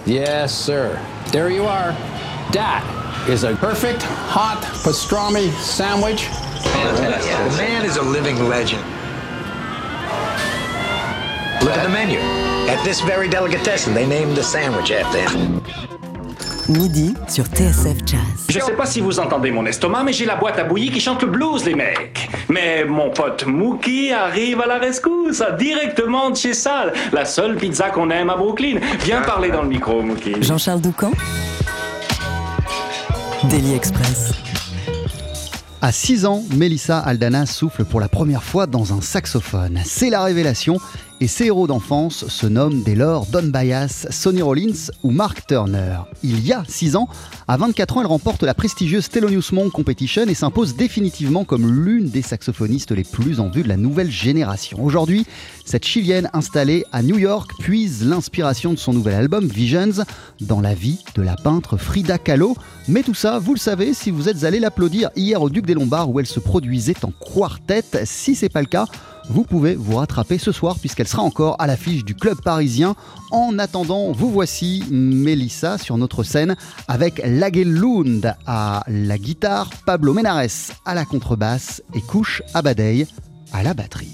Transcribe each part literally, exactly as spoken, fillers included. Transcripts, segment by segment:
Yes, sir. There you are. That is a perfect hot pastrami sandwich. Fantastic. Yeah, the man is a living legend. Look at the menu. At this very delicatessen, they named the sandwich after him. Midi sur T S F Jazz. Je sais pas si vous entendez mon estomac, mais j'ai la boîte à bouillie qui chante le blues, les mecs. Mais mon pote Mookie arrive à la rescousse, directement de chez Sal, la seule pizza qu'on aime à Brooklyn. Viens parler dans le micro, Mookie. Jean-Charles Doucan. Daily Express. À six ans, Melissa Aldana souffle pour la première fois dans un saxophone. C'est la révélation et ses héros d'enfance se nomment dès lors Don Byas, Sonny Rollins ou Mark Turner. Il y a six ans, à vingt-quatre ans, elle remporte la prestigieuse Thelonious Monk Competition et s'impose définitivement comme l'une des saxophonistes les plus en vue de la nouvelle génération. Aujourd'hui, cette Chilienne installée à New York puise l'inspiration de son nouvel album Visions dans la vie de la peintre Frida Kahlo. Mais tout ça, vous le savez, si vous êtes allé l'applaudir hier au Duc des Lombards où elle se produisait en quartet. Si c'est pas le cas, vous pouvez vous rattraper ce soir puisqu'elle sera encore à l'affiche du club parisien. En attendant, vous voici Melissa sur notre scène avec Lagelund à la guitare, Pablo Menares à la contrebasse et Kouch Abadei à la batterie.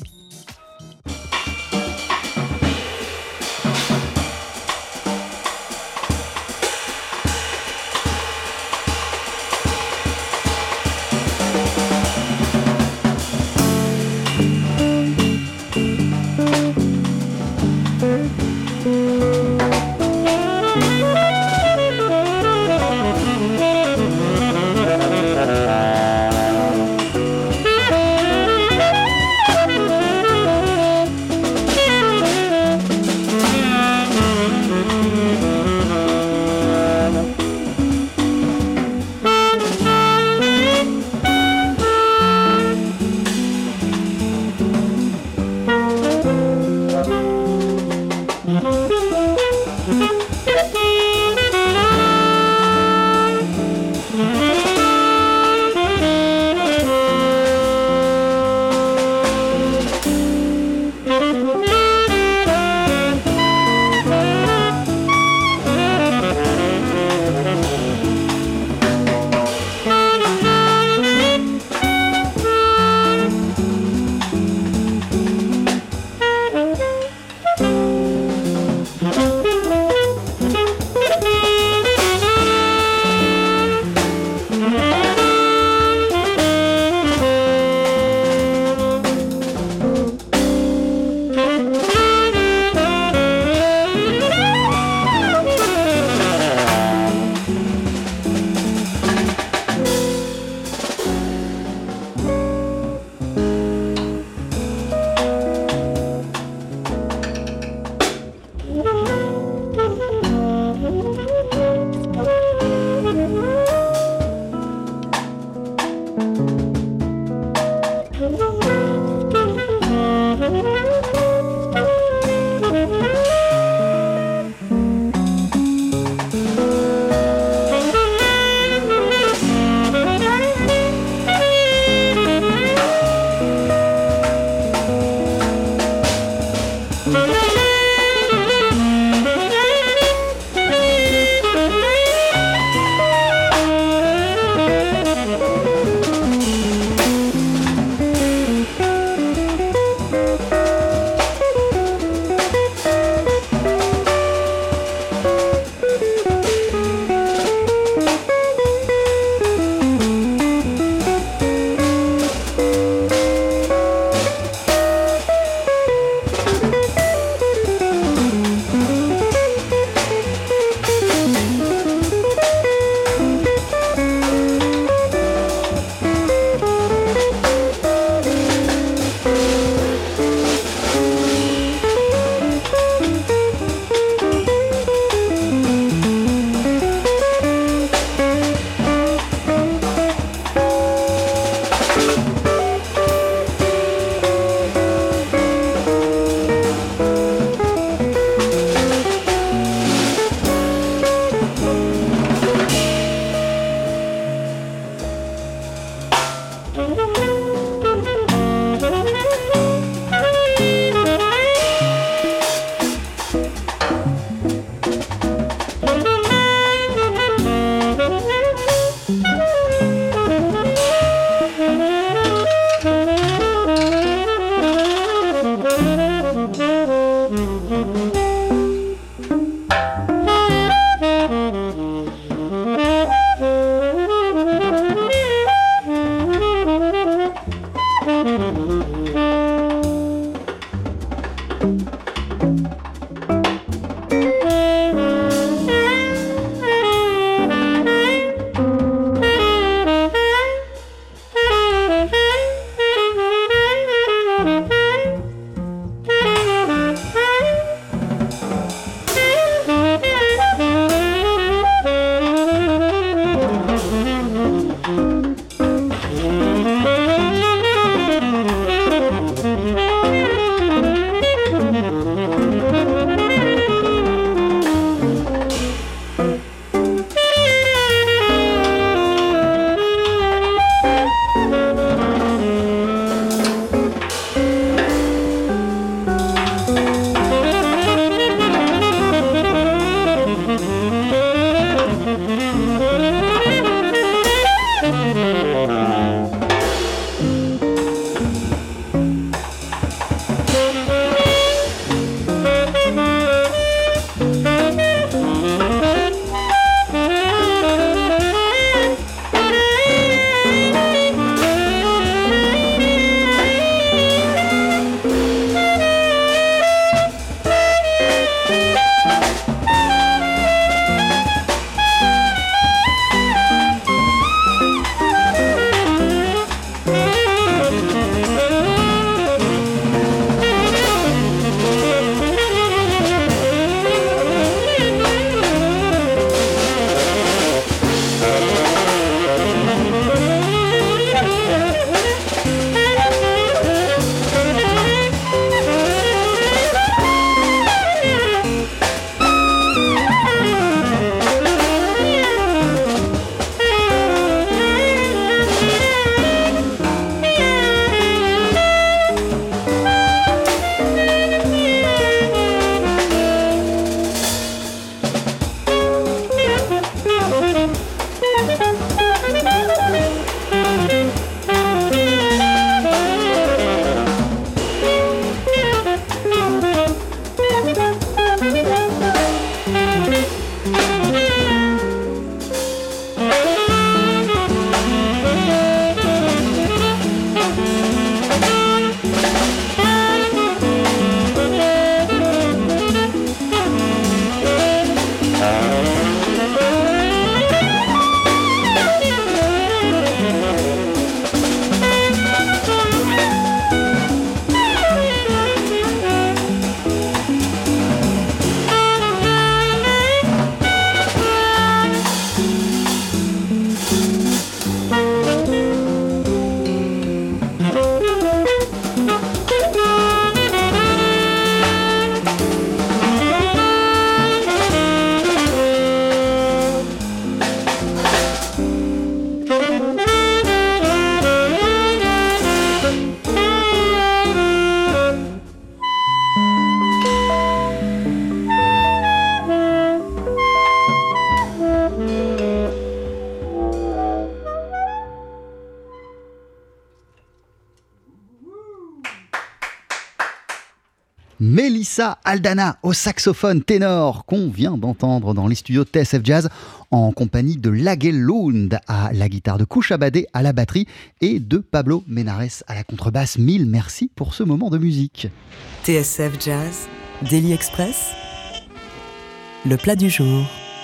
Mélissa Aldana au saxophone ténor qu'on vient d'entendre dans les studios de T S F Jazz en compagnie de Lage Lund à la guitare, de Kouchabadé à la batterie et de Pablo Menares à la contrebasse. Mille merci pour ce moment de musique. T S F Jazz, Daily Express, le plat du jour.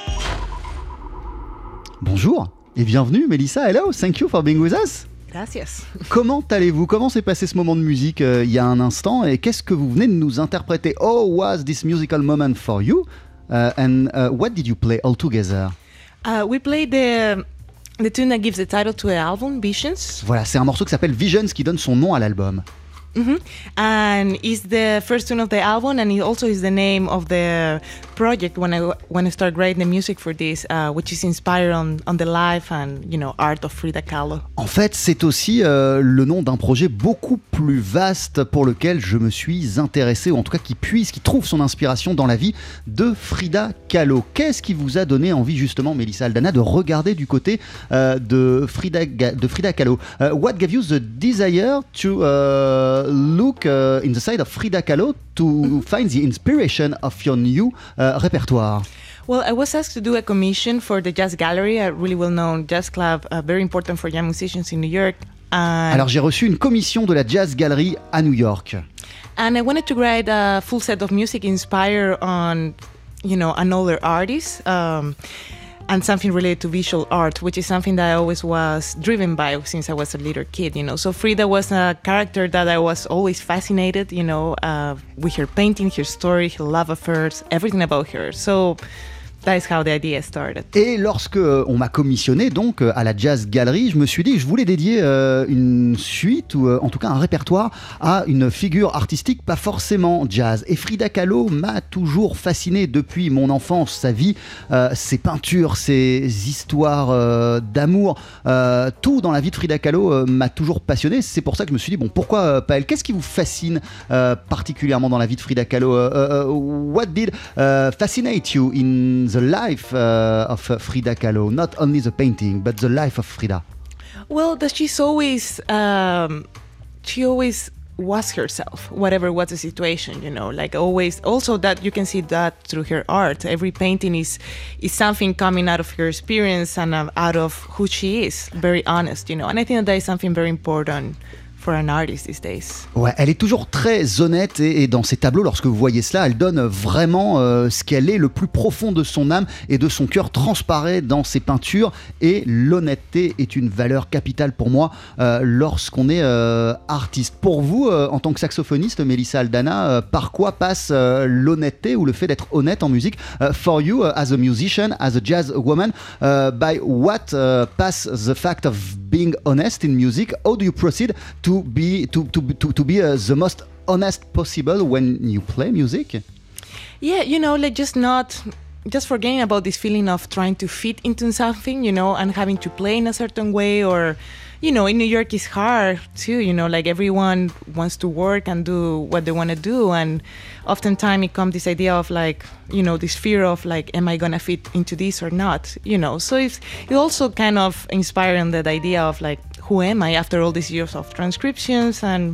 Bonjour et bienvenue Mélissa, hello, thank you for being with us. Gracias. Comment allez-vous? Comment s'est passé ce moment de musique euh, il y a un instant et qu'est-ce que vous venez de nous interpréter? Oh, was this musical moment for you? Uh, and uh, what did you play all together? Uh, we played the the tune that gives the title to the album, Visions. Voilà, c'est un morceau qui s'appelle Visions qui donne son nom à l'album. Mm-hmm. And it's the first tune of the album, and it also is the name of the project when I when I started writing the music for this, uh, which is inspired on on the life and you know art of Frida Kahlo. En fait, c'est aussi euh, le nom d'un projet beaucoup plus vaste pour lequel je me suis intéressé, ou en tout cas qui puise, qui trouve son inspiration dans la vie de Frida Kahlo. Qu'est-ce qui vous a donné envie justement, Mélissa Aldana, de regarder du côté euh, de Frida de Frida Kahlo? uh, What gave you the desire to uh, look uh, in the side of Frida Kahlo to find the inspiration of your new uh, repertoire? Well, I was asked to do a commission for the Jazz Gallery, a really well-known jazz club, uh, very important for young musicians in New York. And Alors j'ai reçu une commission de la Jazz Gallery à New York. And I wanted to write a full set of music inspired on, you know, an older artist. Um, and something related to visual art, which is something that I always was driven by since I was a little kid, you know. So Frida was a character that I was always fascinated, you know, uh, with her painting, her story, her love affairs, everything about her. So that is how the idea started. Et lorsque euh, on m'a commissionné donc euh, à la Jazz Gallery, je me suis dit que je voulais dédier euh, une suite ou euh, en tout cas un répertoire à une figure artistique pas forcément jazz. Et Frida Kahlo m'a toujours fasciné depuis mon enfance, sa vie, euh, ses peintures, ses histoires euh, d'amour, euh, tout dans la vie de Frida Kahlo euh, m'a toujours passionné. C'est pour ça que je me suis dit bon, pourquoi euh, pas elle? Qu'est-ce qui vous fascine euh, particulièrement dans la vie de Frida Kahlo? uh, uh, What did uh, fascinate you in the life uh, of uh, Frida Kahlo, not only the painting, but the life of Frida? Well, that she's always, um, she always was herself, whatever was the situation, you know, like always. Also that you can see that through her art. Every painting is is something coming out of her experience and uh, out of who she is, very honest, you know. And I think that, that is something very important for an artist these days. Ouais, elle est toujours très honnête et, et dans ses tableaux, lorsque vous voyez cela, elle donne vraiment euh, ce qu'elle est, le plus profond de son âme et de son cœur transparaît dans ses peintures. Et l'honnêteté est une valeur capitale pour moi euh, lorsqu'on est euh, artiste. Pour vous, euh, en tant que saxophoniste, Mélissa Aldana, euh, par quoi passe euh, l'honnêteté ou le fait d'être honnête en musique? uh, For you, uh, as a musician, as a jazz woman, uh, by what uh, pass the fact of being honest in music? How do you proceed to be to to to, to be uh, the most honest possible when you play music? Yeah, you know, like just not just forgetting about this feeling of trying to fit into something, you know, and having to play in a certain way. Or, you know, in New York it's hard too, you know, like everyone wants to work and do what they want to do, and oftentimes it comes this idea of like, you know, this fear of like, am I gonna fit into this or not, you know. So it's it also kind of inspiring that idea of like, who am I after all these years of transcriptions and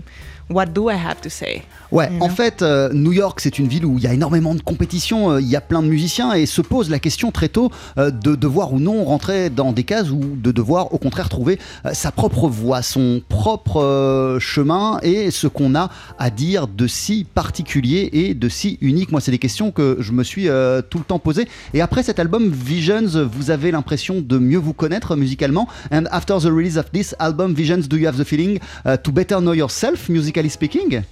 what do I have to say? Ouais, You en know? fait, euh, New York, c'est une ville où il y a énormément de compétition, euh, il y a plein de musiciens et se pose la question très tôt euh, de devoir ou non rentrer dans des cases ou de devoir au contraire trouver euh, sa propre voie, son propre euh, chemin et ce qu'on a à dire de si particulier et de si unique. Moi, c'est des questions que je me suis euh, tout le temps posées. Et après cet album Visions, vous avez l'impression de mieux vous connaître musicalement. And after the release of this album Visions, do you have the feeling uh, to better know yourself, musically speaking?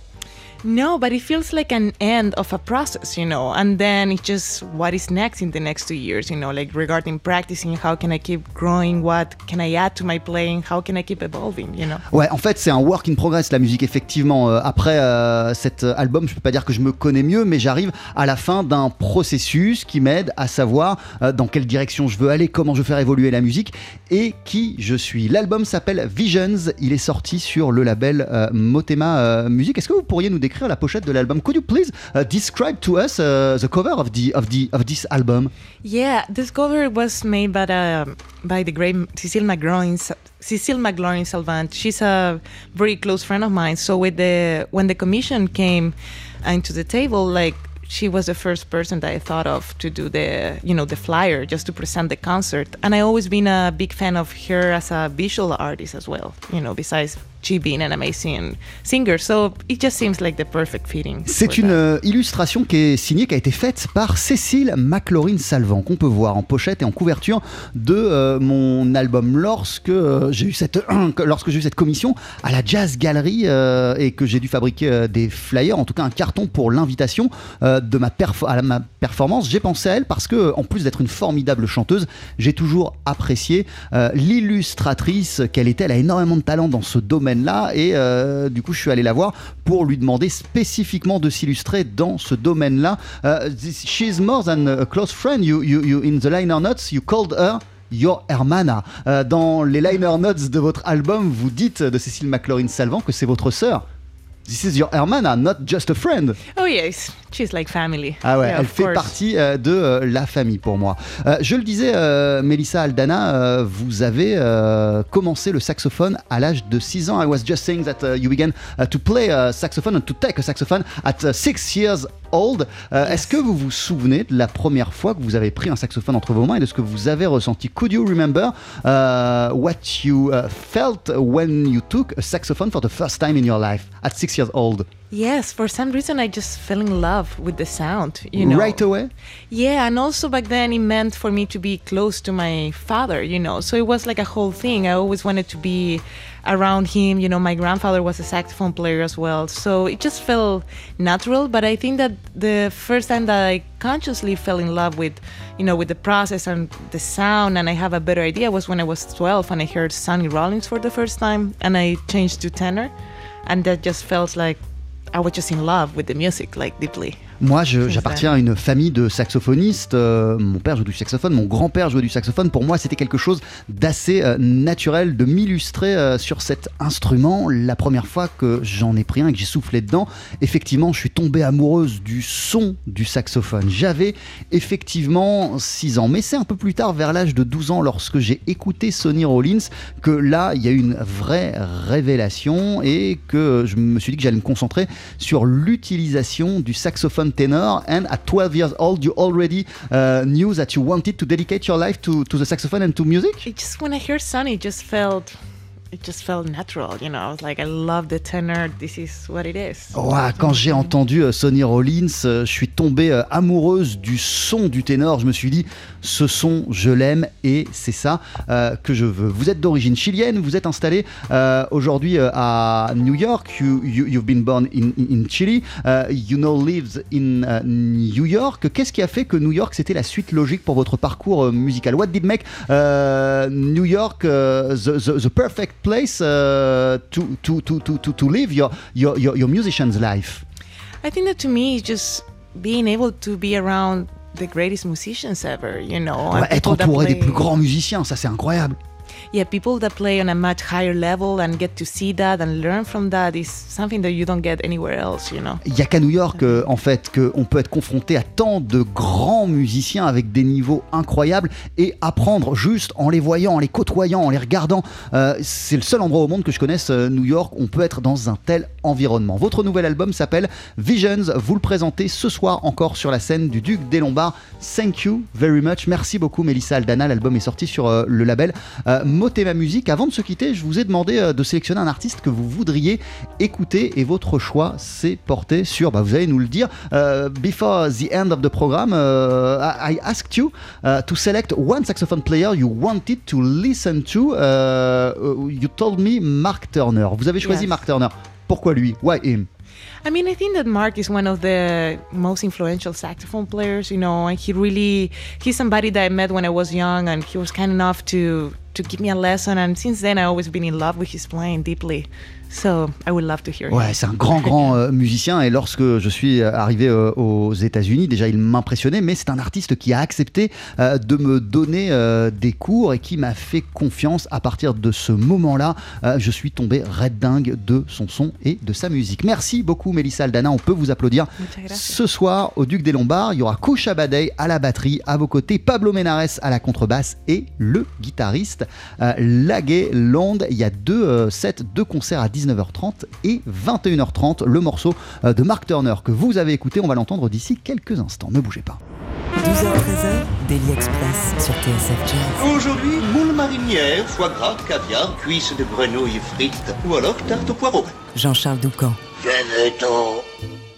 No, but it feels like an end of a process, you know, and then it's just what is next in the next two years, you know, like regarding practicing, how can I keep growing, what can I add to my playing, how can I keep evolving, you know. Ouais, en fait, c'est un work in progress, la musique, effectivement. Euh, après euh, cet album, je peux pas dire que je me connais mieux, mais j'arrive à la fin d'un processus qui m'aide à savoir euh, dans quelle direction je veux aller, comment je veux faire évoluer la musique et qui je suis. L'album s'appelle Visions, il est sorti sur le label euh, Motema euh, Music. Est-ce que vous pourriez nous décrire la pochette de l'album? Could you please uh, describe to us uh, the cover of the of the of this album? Yeah, this cover was made by the by the great Cecile McLaurin. Cecile McLaurin Salvant. She's a very close friend of mine. So with the when the commission came into the table, like she was the first person that I thought of to do the you know the flyer just to present the concert. And I always been a big fan of her as a visual artist as well. You know, besides she being an amazing singer, so it just seems like the perfect fitting. C'est une euh, illustration qui est signée, qui a été faite par Cécile McLaurin Salvant, qu'on peut voir en pochette et en couverture de euh, mon album. Lorsque euh, j'ai eu cette lorsque j'ai eu cette commission à la Jazz Gallery euh, et que j'ai dû fabriquer euh, des flyers, en tout cas un carton pour l'invitation euh, de ma, perf- à la, ma performance, j'ai pensé à elle parce que, en plus d'être une formidable chanteuse, j'ai toujours apprécié euh, l'illustratrice qu'elle était. Elle a énormément de talent dans ce domaine là et euh, du coup je suis allé la voir pour lui demander spécifiquement de s'illustrer dans ce domaine là. uh, this, she's more than a close friend. You, you, you, in the liner notes you called her your hermana. Uh, dans les liner notes de votre album, vous dites de Cécile McLaurin Salvant que c'est votre sœur. This is your hermana, not just a friend. Oh yes, she's like family. Ah ouais, Yeah, elle of fait course. partie euh, de euh, la famille pour moi. Euh, je le disais, euh, Melissa Aldana, euh, vous avez euh, commencé le saxophone à l'âge de six ans. I was just saying that uh, you began uh, to play a saxophone and to take a saxophone at uh, six years old. Euh, Yes. Est-ce que vous vous souvenez de la première fois que vous avez pris un saxophone entre vos mains et de ce que vous avez ressenti? Could you remember uh, what you uh, felt when you took a saxophone for the first time in your life at six years old? Yes, for some reason I just fell in love with the sound, you know. Right away? Yeah, and also back then it meant for me to be close to my father, you know. So it was like a whole thing. I always wanted to be around him, you know. My grandfather was a saxophone player as well. So it just felt natural, but I think that the first time that I consciously fell in love with, you know, with the process and the sound and I have a better idea was when I was twelve and I heard Sonny Rollins for the first time and I changed to tenor, and that just felt like I was just in love with the music, like deeply. Moi, je- j'appartiens à une famille de saxophonistes. Euh, mon père joue du saxophone, mon grand-père jouait du saxophone. Pour moi, c'était quelque chose d'assez euh, naturel de m'illustrer euh, sur cet instrument. La première fois que j'en ai pris un et que j'ai soufflé dedans, effectivement, je suis tombée amoureuse du son du saxophone. J'avais effectivement six ans, mais c'est un peu plus tard, vers l'âge de douze ans, lorsque j'ai écouté Sonny Rollins, que là, il y a eu une vraie révélation et que je me suis dit que j'allais me concentrer sur l'utilisation du saxophone tenor. And at twelve years old, you already uh, knew that you wanted to dedicate your life to, to the saxophone and to music? It just when I heard Sonny, it just felt, it just felt natural. You know, I was like, I love the tenor. This is what it is. Ouah, quand j'ai entendu euh, Sonny Rollins, euh, je suis tombée euh, amoureuse du son du ténor. Je me suis dit, ce son, je l'aime et c'est ça euh, que je veux. Vous êtes d'origine chilienne, vous êtes installé euh, aujourd'hui euh, à New York. You, you, you've been born in, in, in Chile. Uh, you now live in uh, New York. Qu'est-ce qui a fait que New York, c'était la suite logique pour votre parcours euh, musical? What did make uh, New York uh, the, the, the perfect place uh, to, to, to, to, to, to live your, your, your, your musician's life? I think that to me, it's just being able to be around the greatest musicians ever. You know, and Ouais, être people that entouré des play- plus grands musiciens, ça c'est incroyable. yeah, people that play on a much higher level and get to see that and learn from that is something that you don't get anywhere else, you know. Il n'y a qu'à New York, euh, en fait, qu'on peut être confronté à tant de grands musiciens avec des niveaux incroyables et apprendre juste en les voyant, en les côtoyant, en les regardant. Euh, c'est le seul endroit au monde que je connaisse, euh, New York, on peut être dans un tel environnement. Votre nouvel album s'appelle Visions. Vous le présentez ce soir encore sur la scène du Duc des Lombards. Thank you very much. Merci beaucoup, Melissa Aldana. L'album est sorti sur euh, le label euh, Motema Music. Avant de se quitter, je vous ai demandé euh, de sélectionner un artiste que vous voudriez écouter et votre choix s'est porté sur, bah, vous allez nous le dire, uh, before the end of the program, uh, I, I asked you uh, to select one saxophone player you wanted to listen to. Uh, you told me Mark Turner. Vous avez choisi Yes. Mark Turner. Pourquoi lui? Why him? I mean, I think that Mark is one of the most influential saxophone players, you know, and he really, he's somebody that I met when I was young, and he was kind enough to, to give me a lesson, and since then I've always been in love with his playing deeply. So I would love to hear Ouais, him. c'est un grand, grand euh, musicien et lorsque je suis arrivé euh, aux États-Unis, déjà il m'impressionnait, mais c'est un artiste qui a accepté euh, de me donner euh, des cours et qui m'a fait confiance. À partir de ce moment-là, euh, je suis tombé red dingue de son son et de sa musique. Merci beaucoup, Melissa Aldana. On peut vous applaudir. Muchas gracias. Ce soir, au Duc des Lombards, il y aura Kusha Badei à la batterie, à vos côtés, Pablo Menares à la contrebasse et le guitariste euh, Lage Land. Il y a deux euh, sets, deux concerts à dix-neuf heures trente et vingt et une heures trente. Le morceau euh, de Mark Turner que vous avez écouté, on va l'entendre d'ici quelques instants. Ne bougez pas. douze heures treize, Daily Express sur T S F Jazz. Aujourd'hui, moule marinière, foie gras, caviar, cuisses de grenouille frites ou alors tarte au poireau. Jean-Charles Doucan. Venez-t'en.